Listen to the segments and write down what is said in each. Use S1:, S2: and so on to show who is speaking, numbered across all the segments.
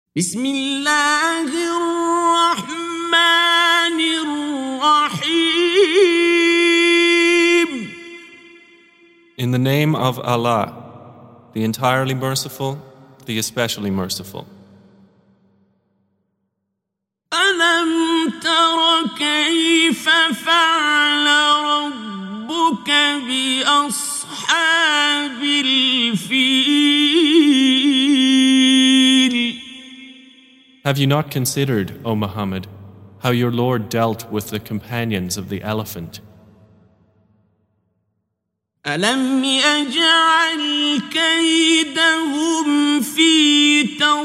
S1: بسم الله الرحمن الرحيم.
S2: In the name of Allah, the entirely merciful, the especially merciful.
S1: ألم تر كيف فعل ربك بأصحاب الفيل؟
S2: Have you not considered, O Muhammad, how your Lord dealt with the companions of the elephant?
S1: ألم يجعل كيدهم في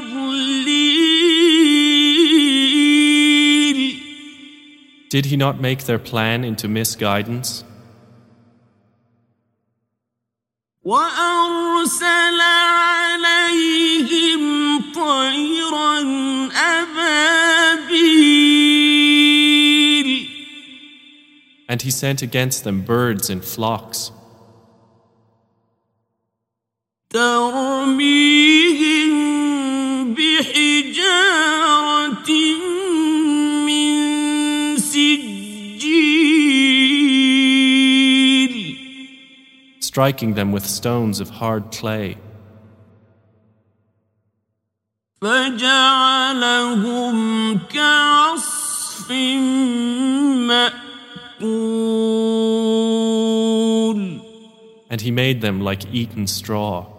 S1: تضليل؟
S2: Did he not make their plan into misguidance?
S1: وأرسل عليهم طيرا أبابيل.
S2: And he sent against them birds in flocks,
S1: ترميهم بحجارة من سجيل.
S2: striking them with stones of hard clay.
S1: فجعلهم كعصف مأكول.
S2: And he made them like eaten straw.